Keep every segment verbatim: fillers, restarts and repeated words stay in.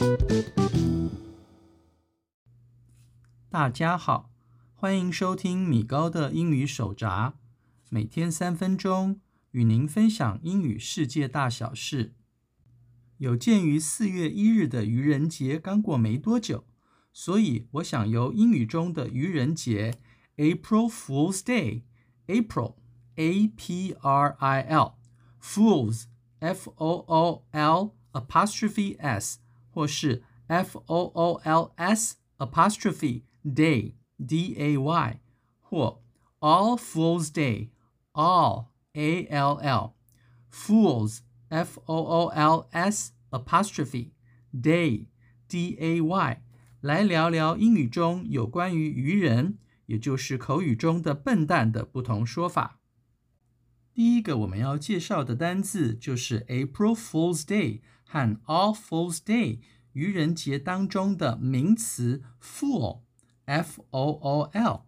大家好，歡迎收聽米高的英語手札，每天三分鐘，與您分享英語世界大小事。有鑑於四月一日的愚人節剛過沒多久，所以我想由英語中的愚人節 April Fool's Day April A P R I L Fools F O O L apostrophe S 或是 F O O L S apostrophe Day D A Y 或 All Fools Day All A L L Fools F O O L S apostrophe Day D A Y 來聊聊英語中有關於愚人，也就是口語中的笨蛋的不同說法。第一個我們要介紹的單字就是 April Fool's Day 和 All Fools Day 愚人節當中的名詞 Fool F O O L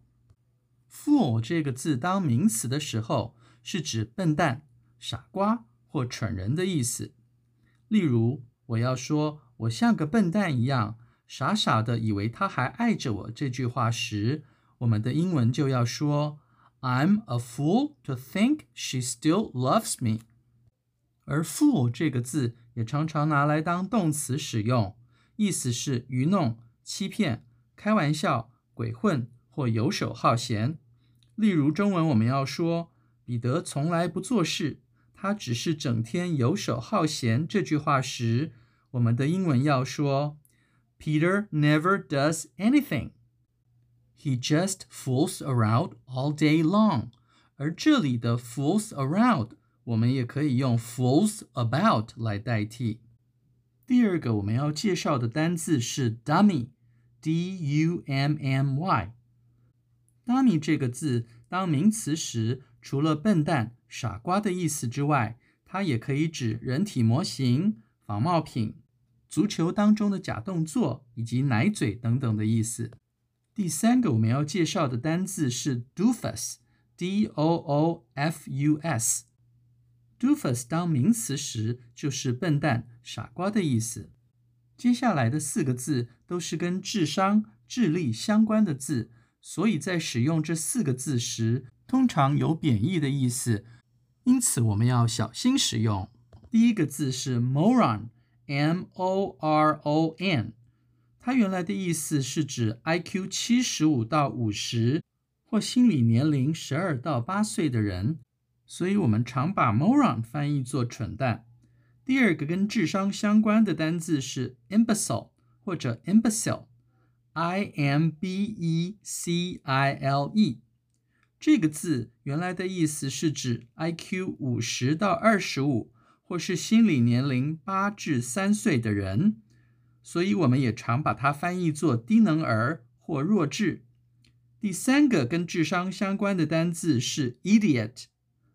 Fool 這個字當名詞的時候，是指笨蛋、傻瓜或蠢人的意思。例如，我要說我像個笨蛋一樣，傻傻的以為他還愛着我這句話時，我們的英文就要說 I'm a fool to think she still loves me。 而 fool 這個字也常常拿來當動詞使用，意思是愚弄、欺騙、開玩笑、鬼混或游手好閒。例如中文我們要說彼得從來不做事，他只是整天游手好閒這句話時，我們的英文要說 Peter never does anything. He just fools around all day long. 而這裡的 fools around 我們也可以用 fools about 來代替。第二個我們要介紹的單字是 dummy D U M M Y Dummy 這個字當名詞時，除了笨蛋、傻瓜的意思之外，它也可以指人體模型、仿冒品、足球當中的假動作以及奶嘴等等的意思。第三個我們要介紹的單字是 doofus D O O F U S Doofus 當名詞時就是笨蛋、傻瓜的意思。接下來的四個字都是跟智商、智力相關的字，所以在使用這四個字時，通常有貶義的意思，因此我們要小心使用。第一個字是 moron M O R O N 它原來的意思是指 I Q 七十五到五十或心理年齡十二到八歲的人，所以我們常把 moron 翻譯作蠢蛋。第二個跟智商相關的單字是 imbecile 或者 imbecile I M B E C I L E 這個字原來的意思是指 I Q 五十到二十五或是心理年齡八至三歲的人，所以我們也常把它翻譯作低能兒或弱智。第三個跟智商相關的單字是 idiot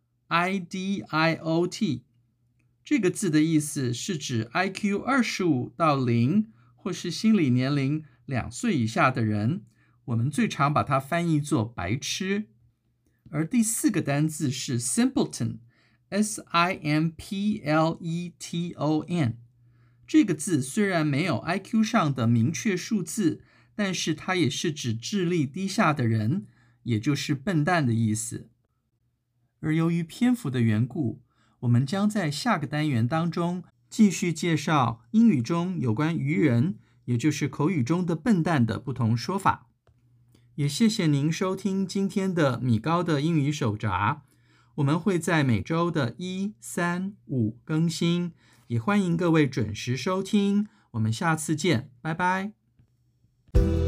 I D I O T 這個字的意思是指 I Q 二十五到零或是心理年齡兩歲以下的人，我們最常把它翻譯作白痴。而第四個單字是 simpleton S I M P L E T O N 這個字雖然沒有 I Q 上的明確數字，但是它也是指智力低下的人，也就是笨蛋的意思。而由於篇幅的緣故，我們將在下個單元當中繼續介紹英語中有關愚人，也就是口語中的笨蛋的不同說法。也謝謝您收聽今天的米高的英語手札，我們會在每周的一、三、五更新，也歡迎各位準時收聽，我們下次見，拜拜。